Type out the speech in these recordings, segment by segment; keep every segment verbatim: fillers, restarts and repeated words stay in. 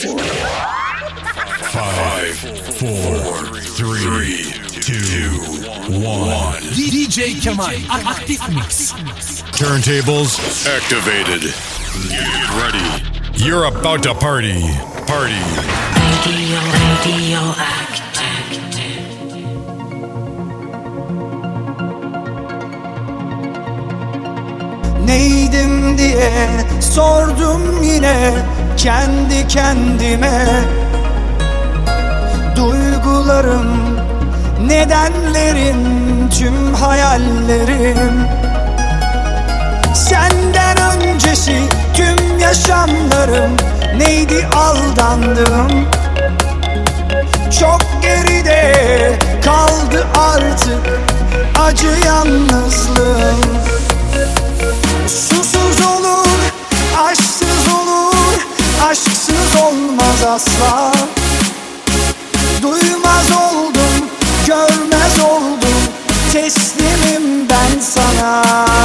Five, four, three, two, one. D J Kemal Aktif Mix. Turntables activated. Get ready. You're about to party. Party. Radio, radio active. Neydim diye sordum yine kendi kendime. Duygularım, nedenlerim, tüm hayallerim. Senden öncesi tüm yaşamlarım neydi, aldandım. Çok geride kaldı artık acı yalnızlığım. Susuz olur, aşksız olur, aşksız olmaz asla. Duymaz oldum, görmez oldum, teslimim ben sana.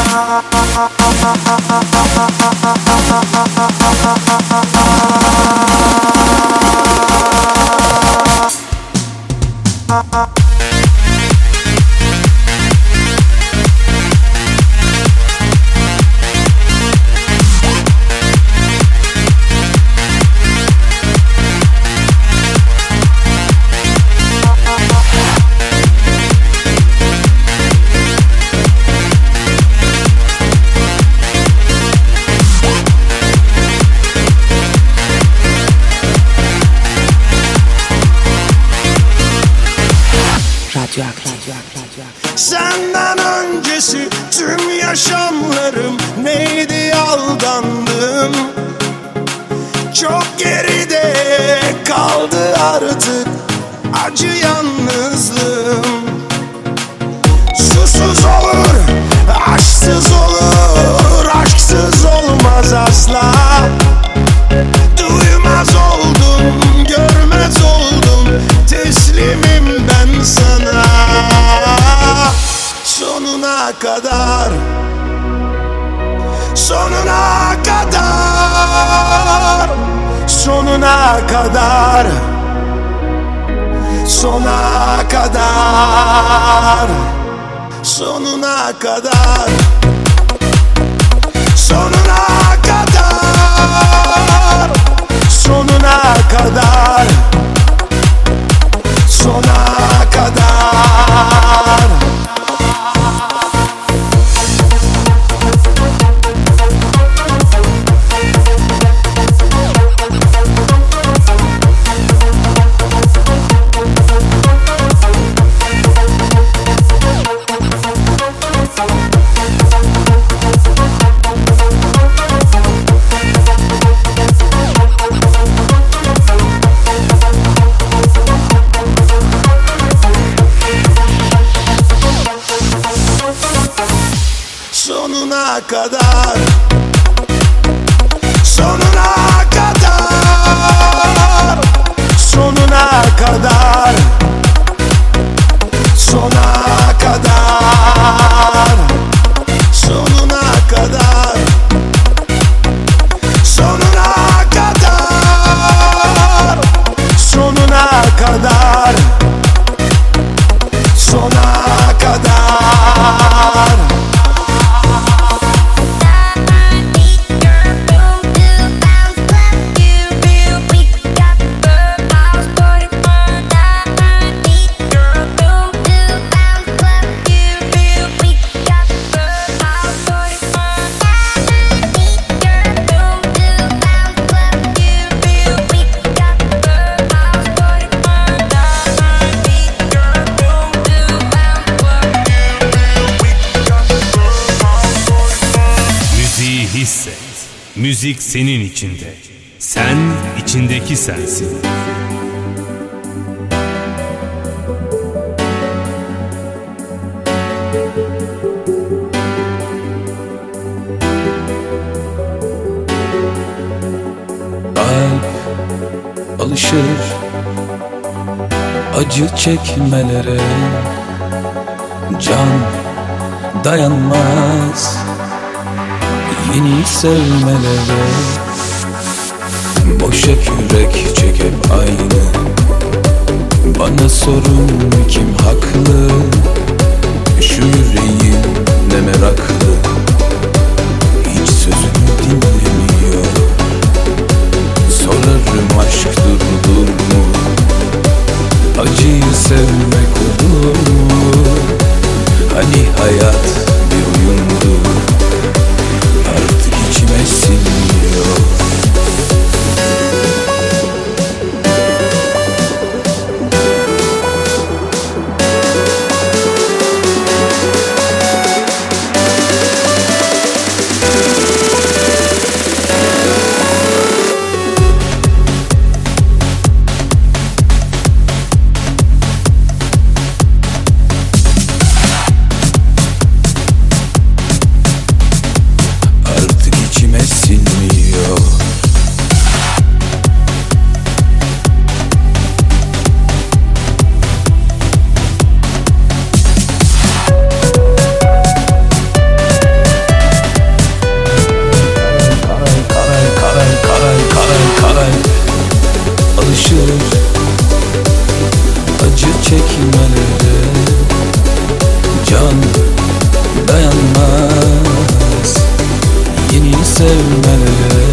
Senden öncesi tüm yaşamlarım neydi, aldandım. Çok geride kaldı artık acı yalnızlığım. Susuz olur, aşksız olur, aşksız olmaz asla. Duymaz oldum, görmez oldum, teslimim ben sana. Sonuna kadar, sonuna kadar, sonuna kadar, sona kadar, sonuna kadar, sonuna kadar, sonuna kadar, sona kadar. Sonuna kadar, sonuna kadar, sonuna kadar, sona kadar, sonuna kadar, sonuna kadar, sonuna kadar, sona kadar. Müzik senin içinde. Sen içindeki sensin. Kalp alışır acı çekmelere, can dayanmaz yeni sevmelere. Boşa kürek çek hep aynı. Bana sorun kim haklı? Şu yüreğim ne meraklı, hiç sözümü dinlemiyor. Sorarım aşk durulur mu? Acıyı sevmek olur mu? Hani hayat bir oyundu, artık içime sinmiyor. Acı çekmelere can dayanmaz. Yeni sevmelere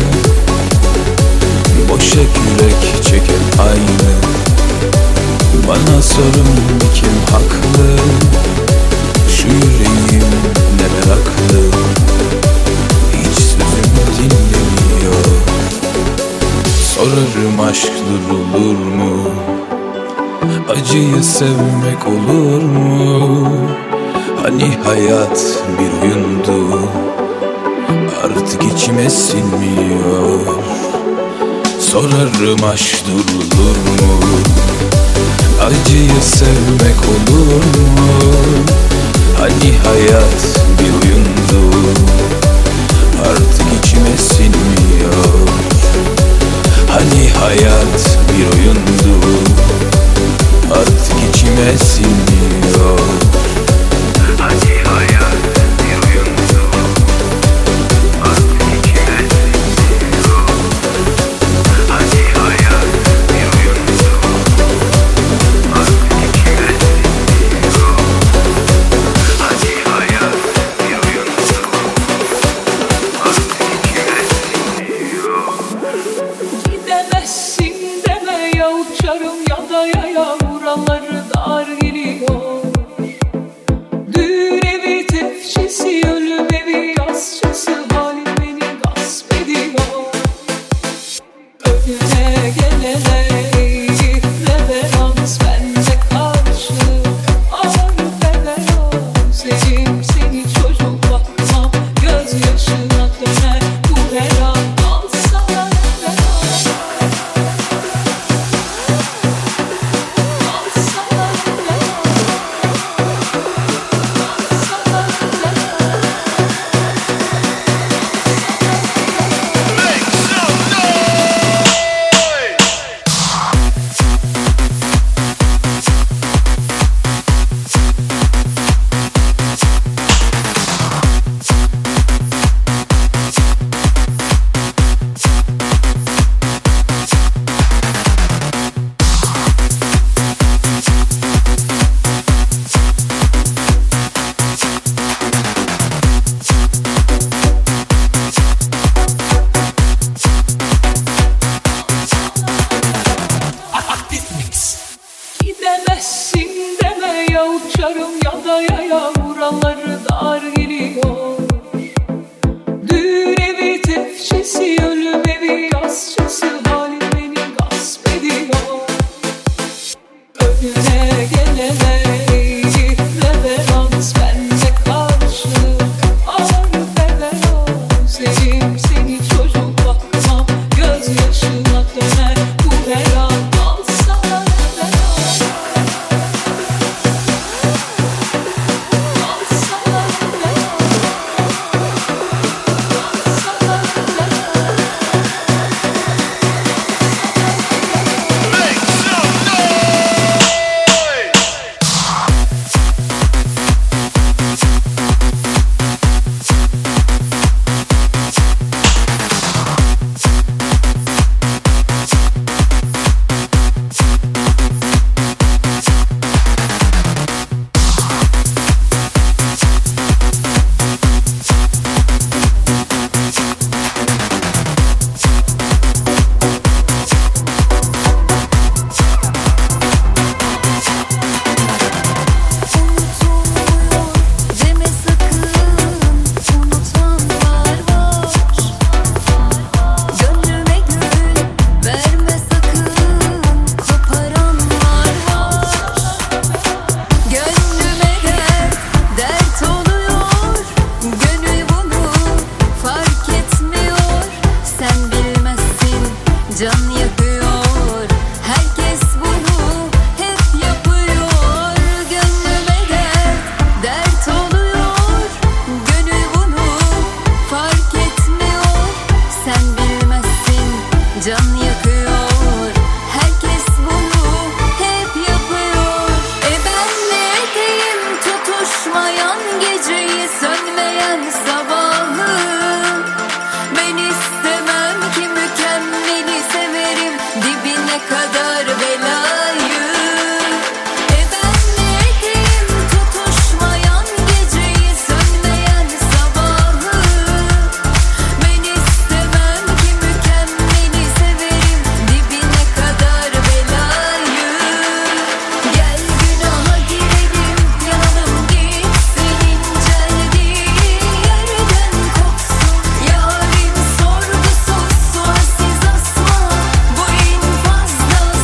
boşa kürek çek hep aynı. Bana sorun kim haklı? Şu yüreğim ne meraklı, hiç sözümü dinlemiyor. Sorarım aşk durulur mu? Acıyı sevmek olur mu? Hani hayat bir oyundu, artık içime sinmiyor. Sorarım aşk durulur mu? Acıyı sevmek olur mu? Hani hayat bir oyundu, artık içime sinmiyor. Hani hayat bir oyundu, artık içime sinmiyor. Hani hayat bir oyundu, artık içime sinmiyor. Hani hayat bir oyundu, artık içime sinmiyor. Hani hayat bir oyundu, artık içime sinmiyor. Gidemezsin deme ya, uçarım ya da yaya, buraları dar geliyor. Düğün evi tefçisi, ölüm evi yasçısı, halim beni gasp ediyor. Önüne gelene reverans bende karşı, ağır reverans. Sevim seni çocuk bakmam, gözyaşına döner bu her an. Alsana reverans, alsana reverans, alsana reverans. Gidemezsin deme ya, uçarım ya da yaya, buraları dar geliyor. Düğün evi tefçisi, ölüm evi yasçısı, halim beni gasp ediyor. Önüne gelene reverans bende karşı, ağır reverans. Sevim seni çocuk bakmam, gözyaşına döner bu her an. Alsana reverans, alsana reverans. Herkes bunu hep yapıyor. Gönlüme dert, dert oluyor. Gönül bunu fark etmiyor. Sen bilmezsin, can yakıyor. Herkes bunu hep yapıyor. E ben ne edeyim tutuşmayan geceyi, sönmeyen sabahı. Ben istemem ki mükemmeli, severim dibine kadar belayı. E ben ne edeyim tutuşmayan geceyi, sönmeyen sabahı. Ben istemem ki mükemmeli, severim dibine kadar belayı. Gel günaha girelim, yanalım gitsin, inceldiği yerden kopsun. Yarim sorgusuz sualsiz asma, bu infazda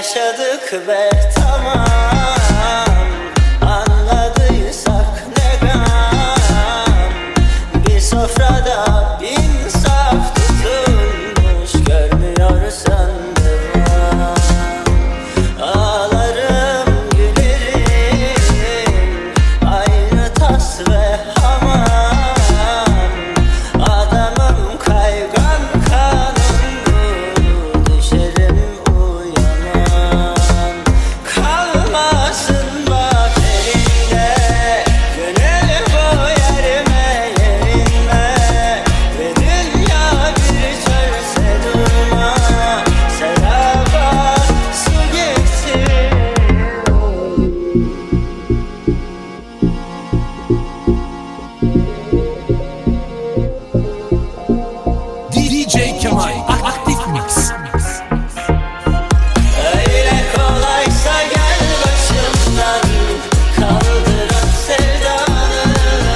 yaşadık be tamam. Anladıysak ne gam. Bir sofrada bin saf tutulmuş, görmüyorsan devam. Ağlarım gülerim, aynı tas ve hamam. Adamım kaygan kanımlı, düşerim uyanam. Kalmasın bak elinde, gönül bu yerime yerinme. Ve dünya bir çölse durma, seraba su getir. D J Kemal Aktif Mix. Öyle kolaysa gel başımdan, kaldıran sevdanı.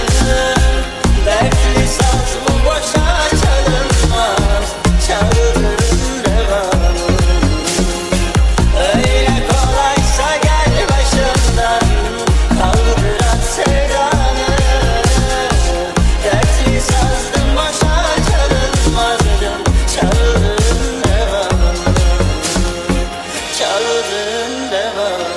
Dertli saz bu boşa çalınmaz, çaldırın devamı. Öyle kolaysa gel başımdan, kaldıran sevdanı. Dertli sazdım boşa çalınmazdım, çaldırın devamı. Çaldırın devamı.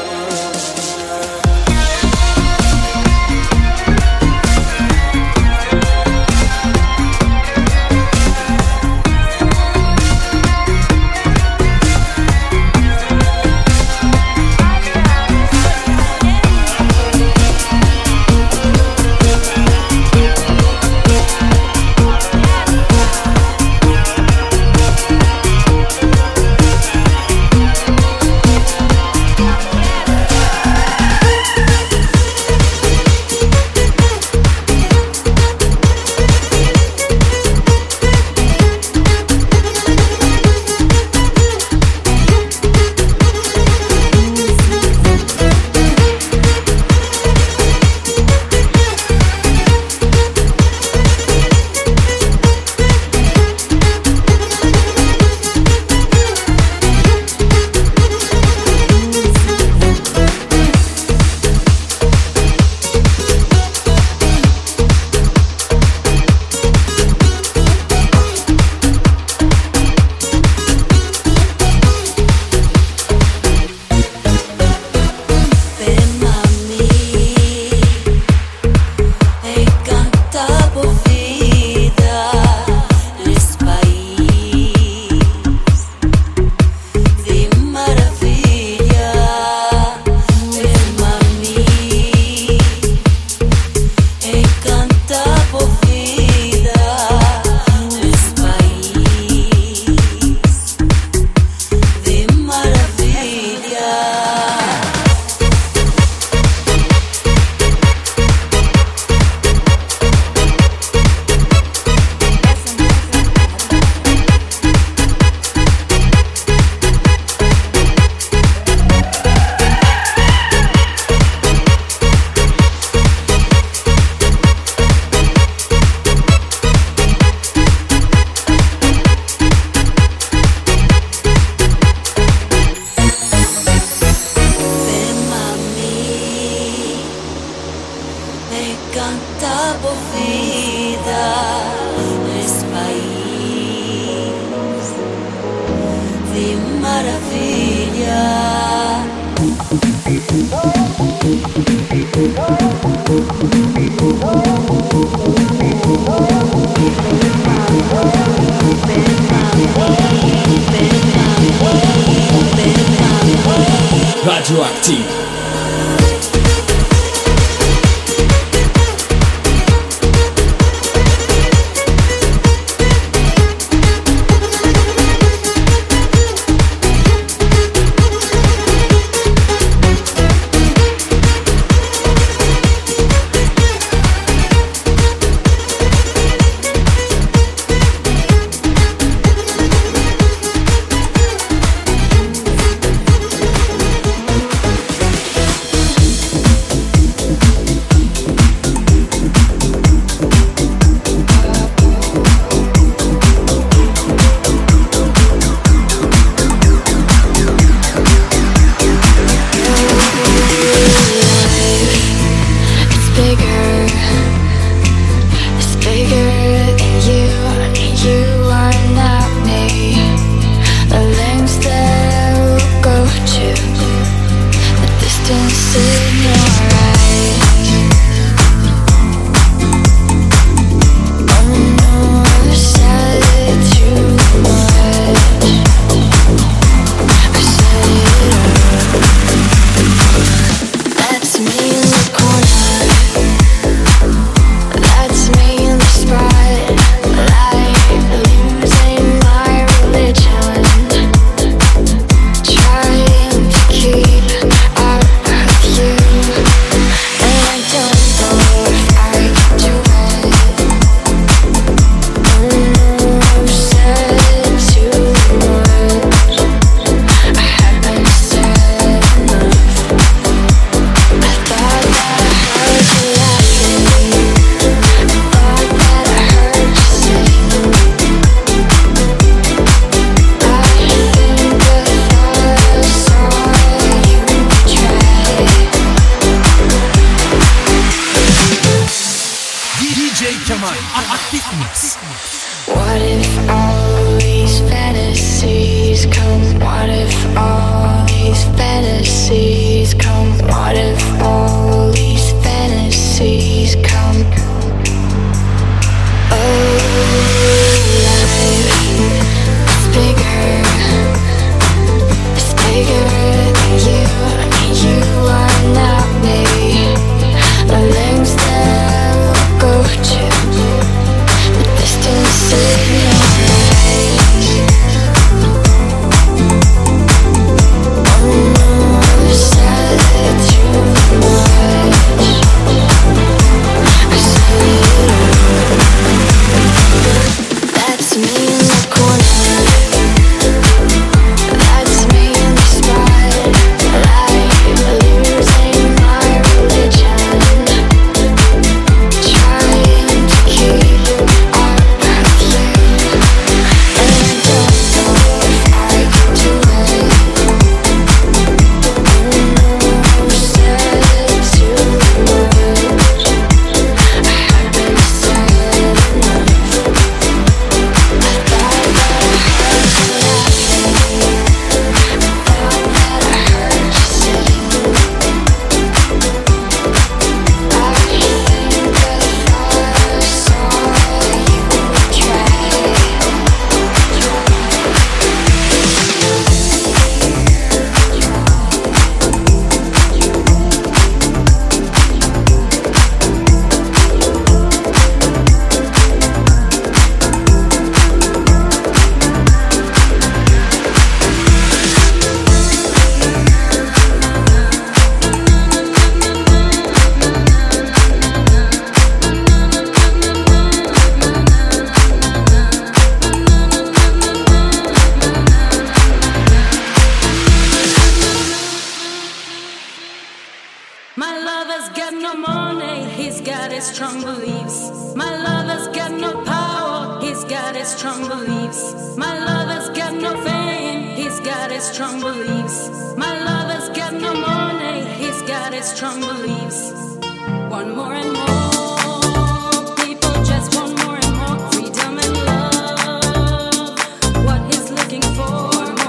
Radioaktiv. got no money, he's got his strong beliefs. My lover's got no power, he's got his strong beliefs. My lover's got no fame, he's got his strong beliefs. My lover's got no money, he's got his strong beliefs. One more and more, people just want more and more freedom and love. What he's looking for.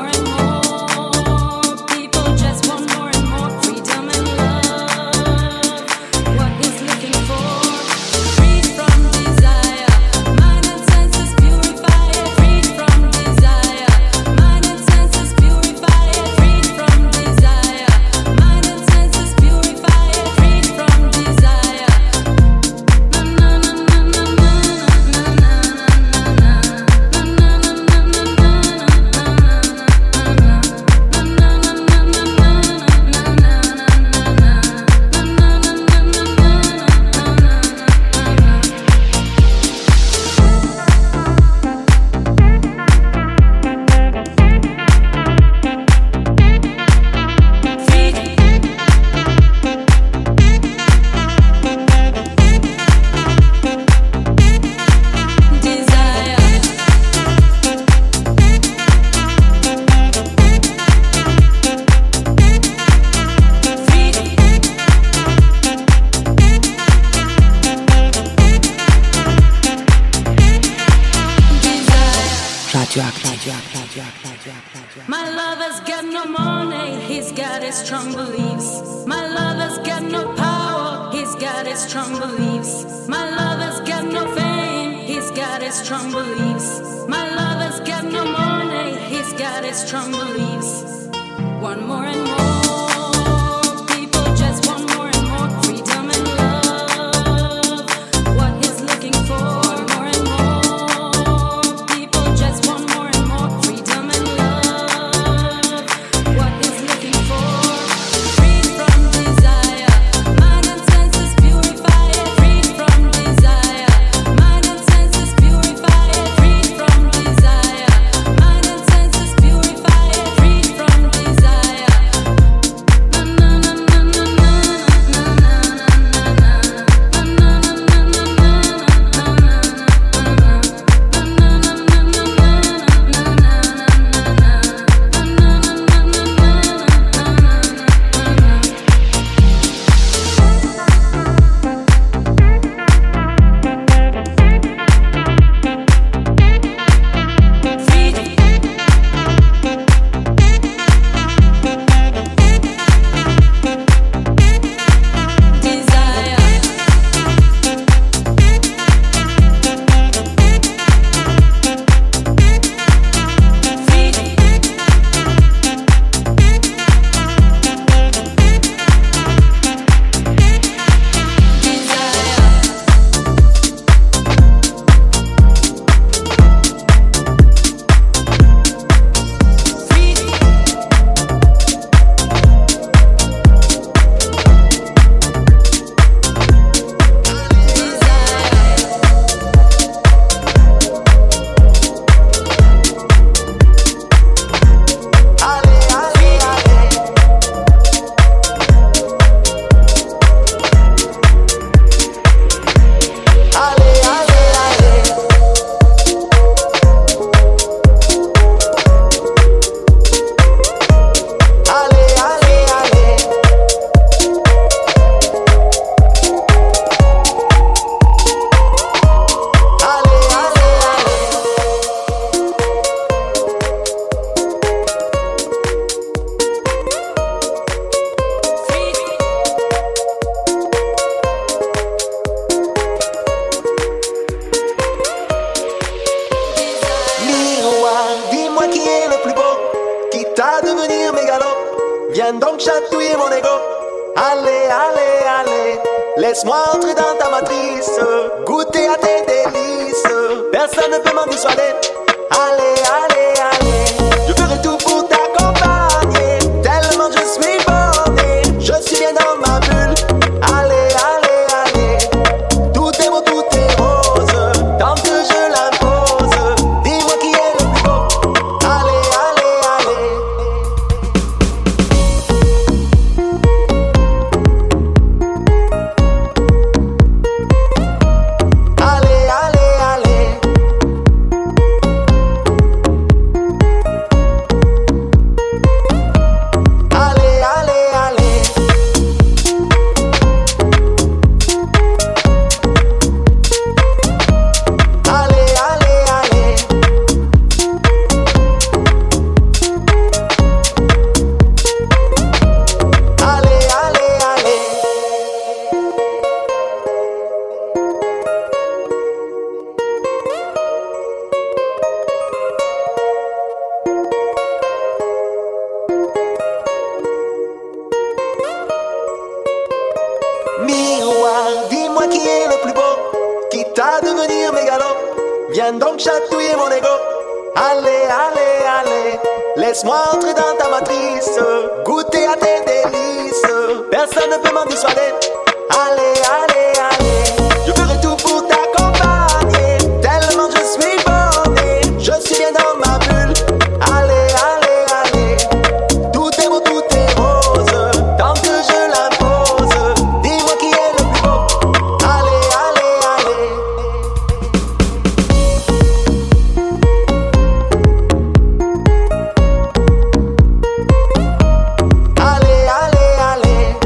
My lover's got no money, he's got his strong beliefs. My lover's got no power, he's got his strong beliefs. My lover's got no fame, he's got his strong beliefs. My lover's got no money, he's got his strong beliefs. One more and more, people just want more and more freedom and love. What he's looking for. Laisse-moi entrer dans ta matrice, goûter à tes délices. Personne ne peut m'en dissuader. Allez, allez, allez. Je ferai tout pour t'accompagner. Tellement je suis borné, je suis bien dans ma bulle. Allez, allez, allez. Tout est beau, tout est rose. Tant que je l'impose. Dis-moi qui est le plus beau. Allez, allez, allez. dis-moi qui est le plus beau, quitte à devenir mégalo. Viens donc chatouiller mon ego. Allez, allez, allez, laisse-moi entrer dans ta matrice, goûter à tes délices. Personne ne peut m'en dissuader. Allez, allez, allez, je ferai tout pour t'accompagner. Tellement je suis borné, je suis bien dans ma bulle. Allez, allez, allez, tout est beau, tout est rose, tant que je l'impose. Dis-moi qui est le plus beau. Allez, allez, allez. Allez, allez, allez.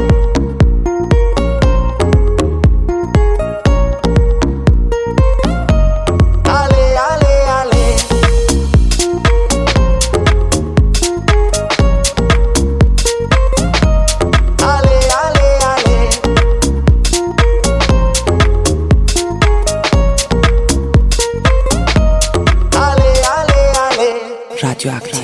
Allez, allez, allez. Allez, allez, allez. Allez, allez, allez. Radioactive.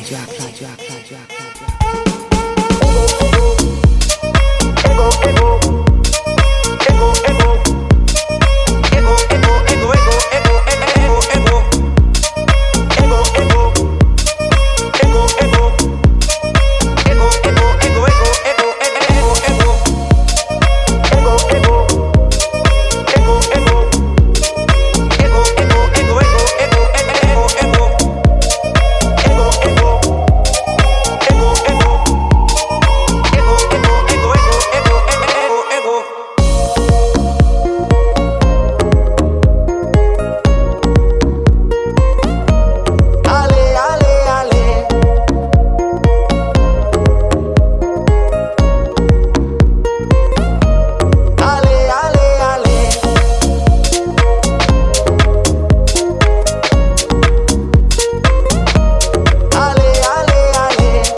Ego, ego. Ego, ego. Ego, ego, ego, ego, ego, ego, ego. Ego, ego. Ego, ego. Ego, ego, ego, ego, ego, ego, ego. Ego, ego. Ego, ego. Ego, ego, ego, ego, ego, ego, ego, ego. Ego, ego. Ego, ego. Ego, ego, ego, ego, ego, ego, ego. Allez, allez, allez. Allez, allez, allez. Allez, allez, allez.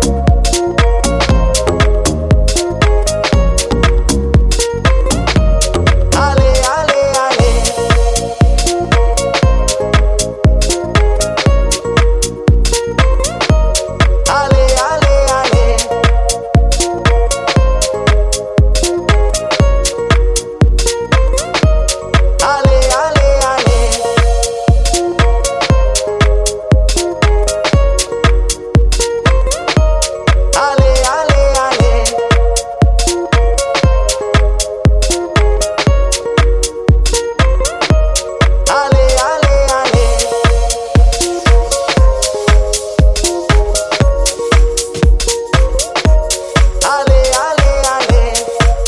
Allez, allez, allez. Allez, allez, allez. Allez, allez, allez. Allez, allez, allez. Allez, allez, allez. Allez, allez, allez.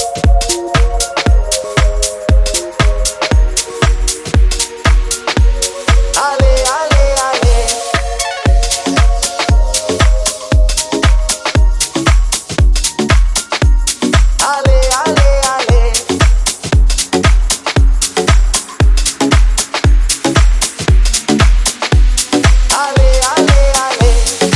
Allez, allez, allez. Allez, allez, allez. Allez, allez, allez.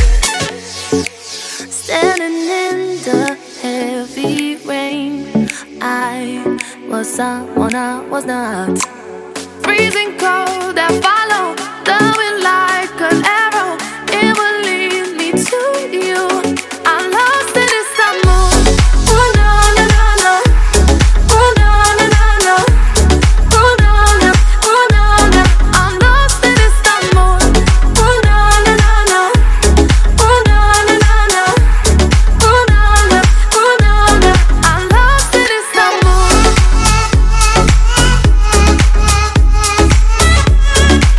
Standing in the heavy rain, I was someone I was not. Freezing cold, I follow the wind like an arrow. It will lead me to you. I'm lost in this summer. Oh no, no, no, no. Oh no, no, no, no. Oh no, no, oh no, no. I'm lost in this summer. Oh no, no, no, no. Oh no, no, no, no. Oh no, no, oh no, no. I'm lost in this summer.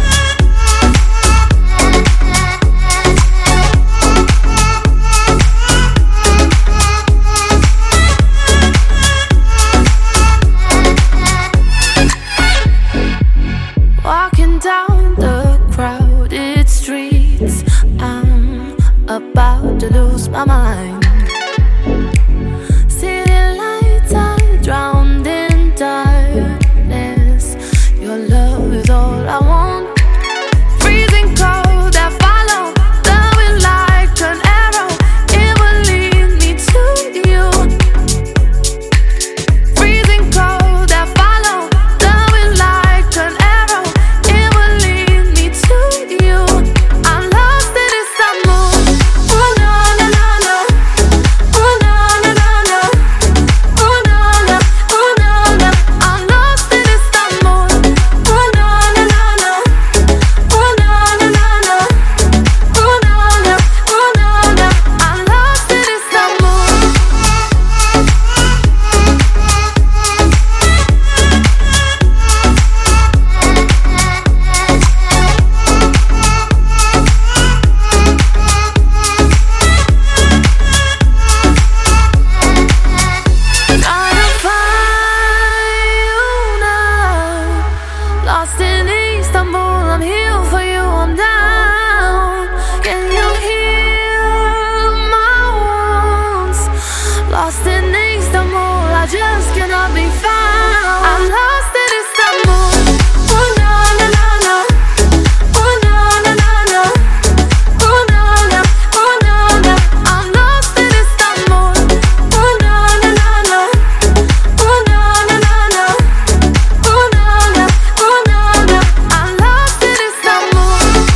lost in Istanbul, I just cannot be found. I'm lost in Istanbul. Oh na na na na. Oh na na na na. Oh na na. Oh na na. I'm lost in Istanbul. Oh na na na na. Oh na na na na. Oh na na. Oh na na. I'm lost in Istanbul.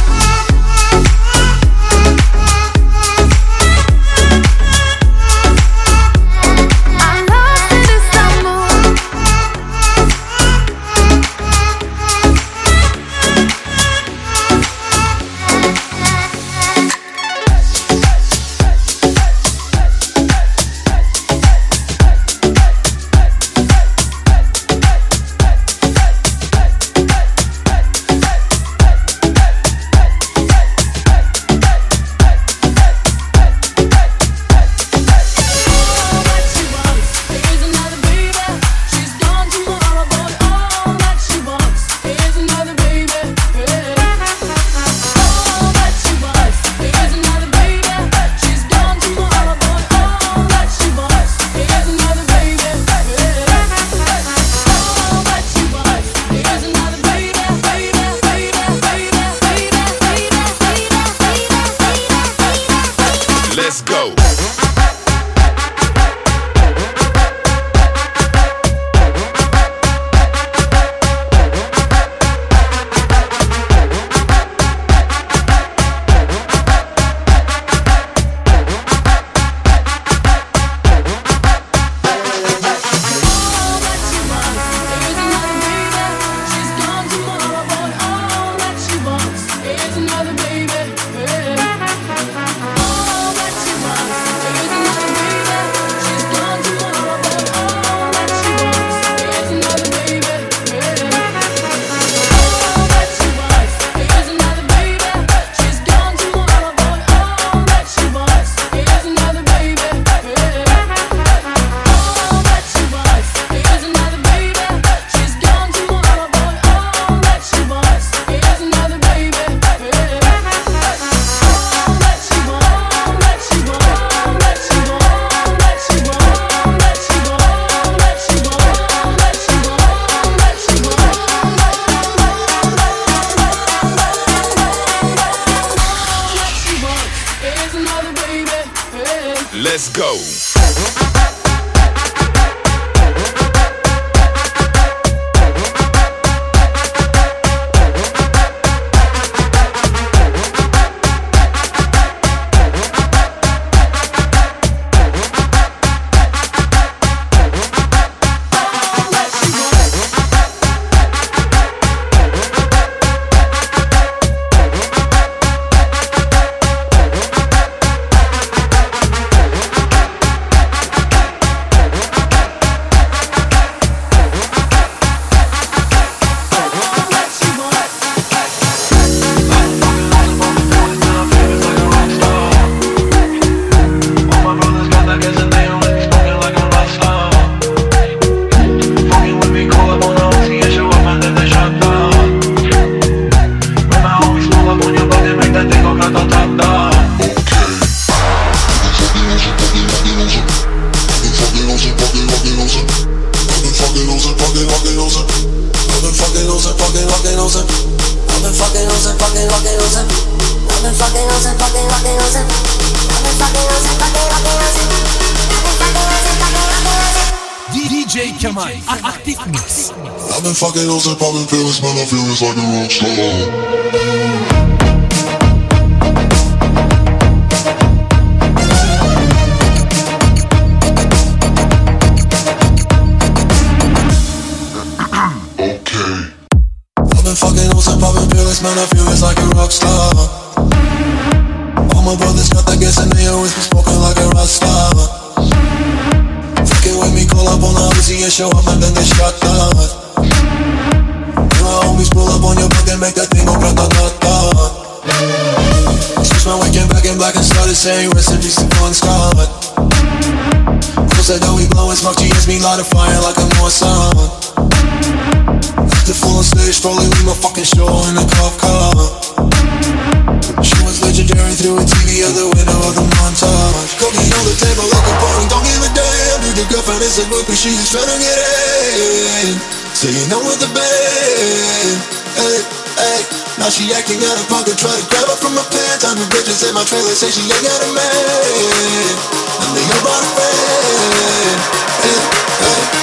Let's go. Let's go. D J Kemal Aktif Mix. I've been fucking those and popping pills, man, I feel it's like a rock star. Man, I feel it's like a rock star. All my brothers got that gas and they always been smoking like a rock star. Fucking with me, call up on the Uzi and show up and then get shot down. Me my homies pull up on your block and make that thing go grata-ta-ta. Switch my weekend back in black and started saying rest in peace to Bon Scott. People said that we blowin' smoke, G S me light a fire like a Mossad. The full on stage, probably leave my fucking show in a cop car. She was legit legendary through a T V or the window of the montage. Cooking on the table like a party, don't give a damn. Dude, the girlfriend is a groupie, she is trying to get in. So you know with the band, hey, hey. Now she acting out of pocket, try to grab her from my pants. I'm the bitches in my trailer, say she ain't got a man. And they all brought a friend, hey, hey.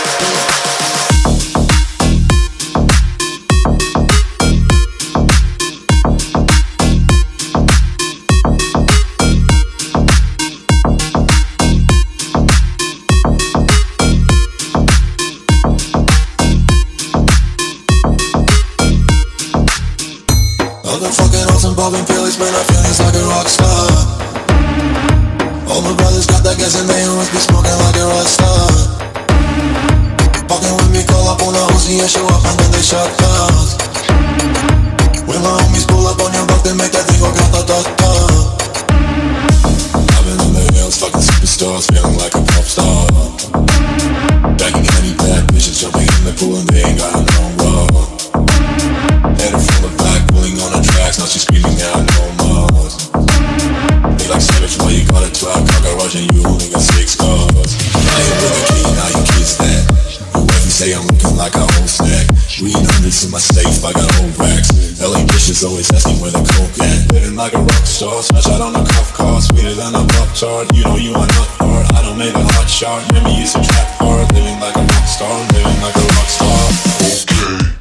Popping pills, man, I feel it's like a rock star. All my brothers got that gas and they must be smoking like a rock star. Fucking with me, call up on the Uzi and show up and then they shot guns. When my homies pull up on your block, they make that thing go grata-ta-ta. I've been in the hills, fucking superstars, feeling like a pop star. Banging any bad bitches, jumping in the pool and they ain't got no love. Headed from the back, pulling on the tracks, now she's screaming out no more. They like savage, why you got a twelve car garage and you only got six cars. I ain't with a key, now you kids that. Your wife say I'm looking like a whole snack. Green hundreds in my safe, I got old racks. L A bitches always asking where the coke at. Living like a rock star, smash out on a cuff car. Sweeter than a pop tart, you know you are not hard. I don't make a hot shot, remember you used to trap hard. Living like a rock star, living like a rock star. Okay.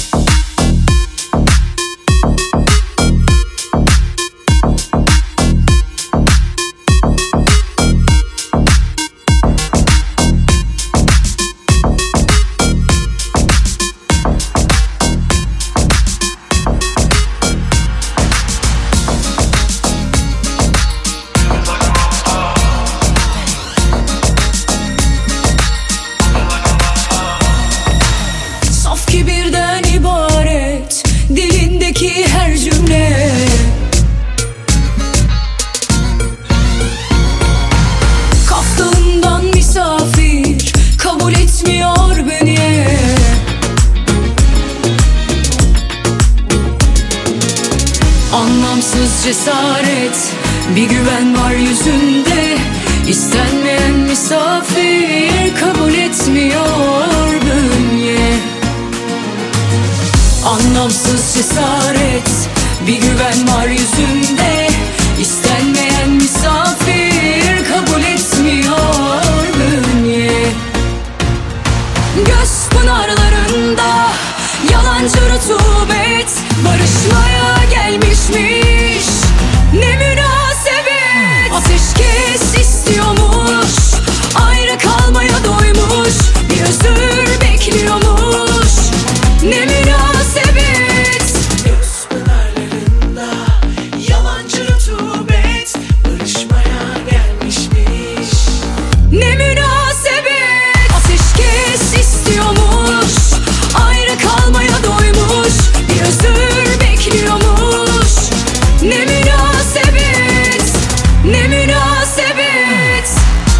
Cesaret, bir güven var yüzünde. İstenmeyen misafir kabul etmiyor bünye. Anlamsız cesaret, bir güven var yüzünde. İstenmeyen misafir kabul etmiyor bünye. Göz pınarlarında yalancı rutubet barışmaya gelmişmiş. Ne münasebet, ateşkes istiyormuş. Ayrı kalmaya doymuş, bir özür bekliyormuş. Ne münasebet. Göz pınarlarında yalancı rutubet barışmaya gelmişmiş. Ne münasebet, ateşkes istiyormuş. Ayrı kalmaya doymuş, bir özür bekliyormuş. Ne münasebet, ne münasebet.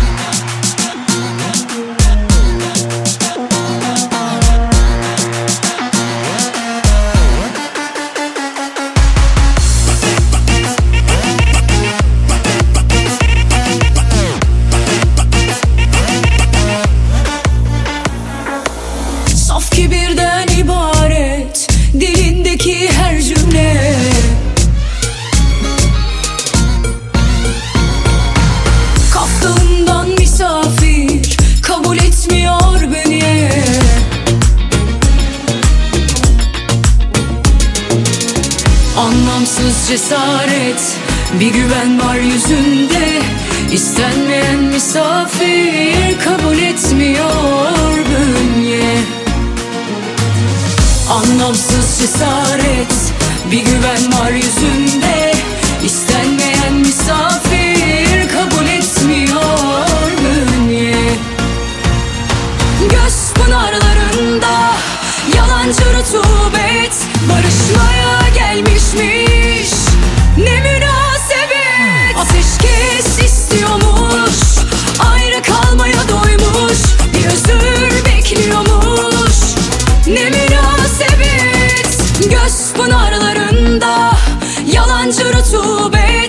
Saf kibirden ibaret dilindeki her cümle. Kaftalından misafir kabul etmiyor beni. Anlamsız cesaret, bir güven var yüzünde. İstenmeyen misafir kabul etmiyor bünye. Anlamsız cesaret, bir güven var yüzünde. İstenmeyen misafir kabul etmiyor bünye. Göz pınarlarında yalancı rutubet barışmaya gelmişmiş. Ne münasebet, ateşkes istiyormuş. Ayrı kalmaya doymuş, bir özür bekliyormuş. Ne münasebet. Göz pınarlarında yalancı rutubet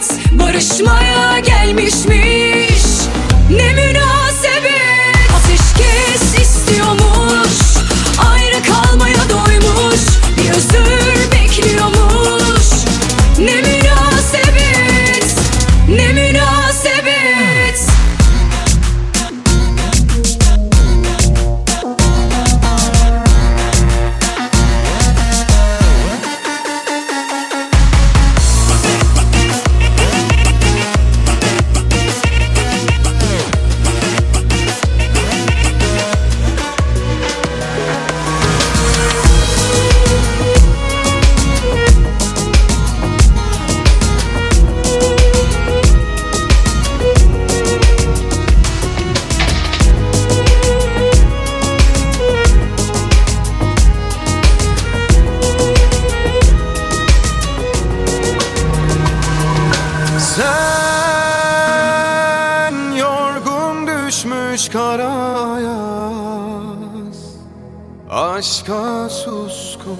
ayaz, aşka suskun.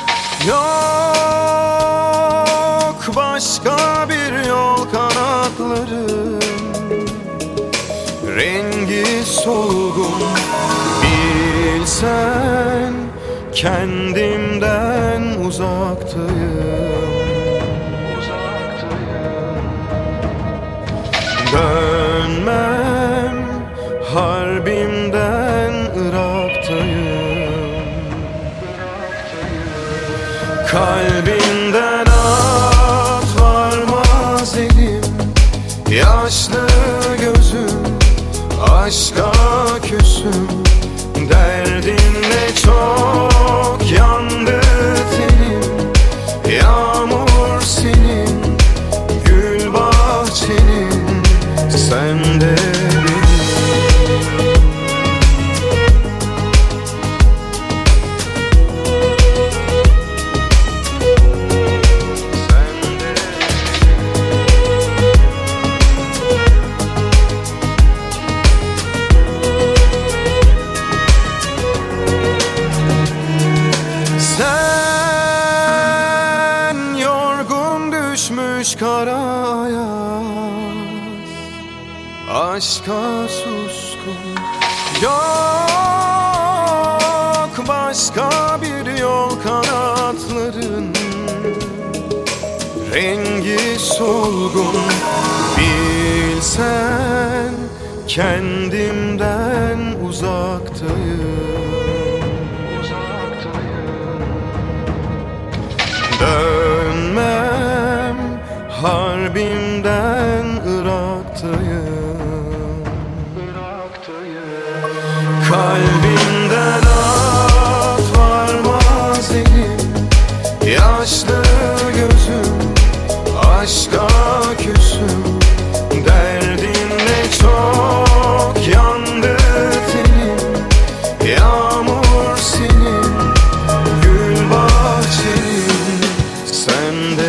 Yok başka bir yol, kanatların rengi solgun. Bilsen kendimden uzaktayım, dönmem harbimden Irak'tayım. Kalbimden at varmaz elim, yaşlı gözüm, aşka küsüm. Derdinle çok yandı tenim, yağmur senin, gül bahçenin, sen de benim. Kara ayaz, aşka suskun. Yok başka bir yol, kanatların rengi solgun. Bilsen kendimden uzaktayım, dönmem harbimden Irak'tayım. Kalbimden at varmaz elim, yaşlı gözüm, aşka küsüm. Derdinle çok yandı tenim, yağmur senin, gül bahçenin, sen de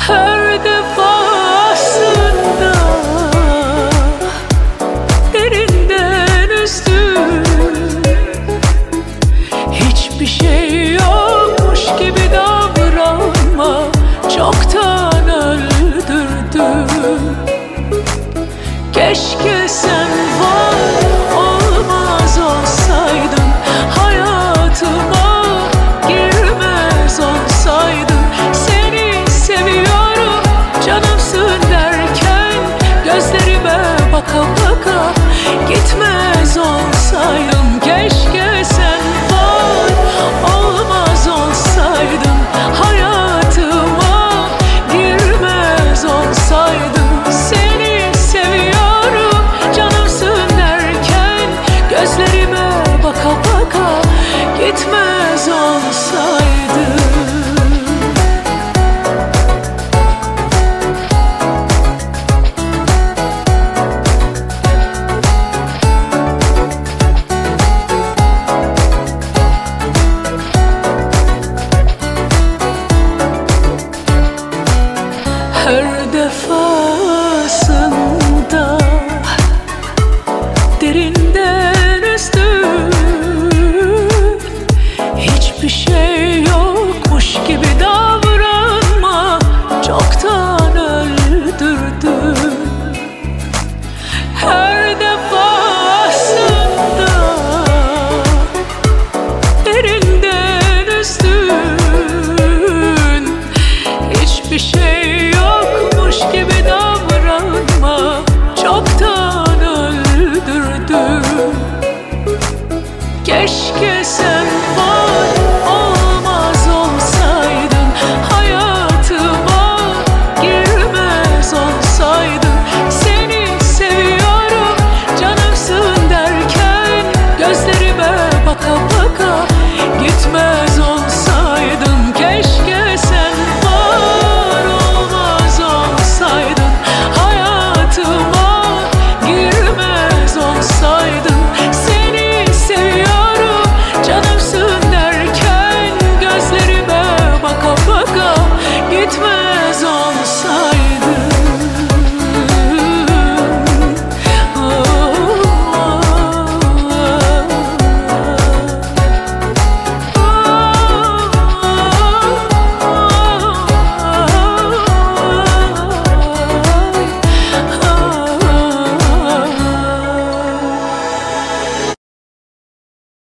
Her defasında derinden üzdün. Hiçbir şey yokmuş gibi davranma, çoktan öldürdüm. Keşke sen var olmaz olsaydın, hayatıma girmez olsaydın. Seni seviyorum canımsın derken gözlerime baka baka gitmez olsaydın. Keşke sen var olmaz olsaydın, hayatıma girmez olsaydın. Seni seviyorum canımsın derken gözlerime baka baka gitmez olsaydın. Her defasında derinden üzdün. Hiçbir şey yokmuş gibi davranma, çoktan öldürdün. Her defasında derinden üzdün. Hiçbir şey